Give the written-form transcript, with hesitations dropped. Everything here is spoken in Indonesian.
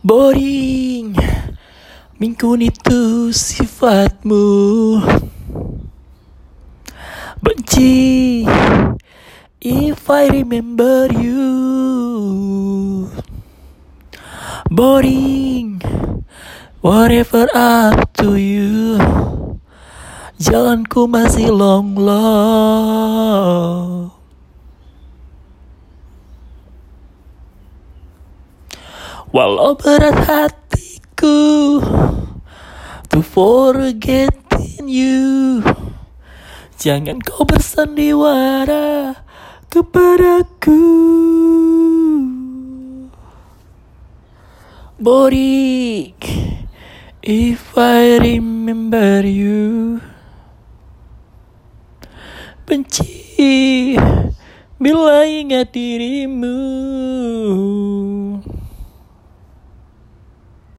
Boring, minggu itu sifatmu. Benci, if I remember you. Boring, whatever up to you. Jalanku masih long. Walau berat hatiku to forgetting you, jangan kau bersandiwara kepadaku. Boring, if I remember you. Benci bila ingat dirimu.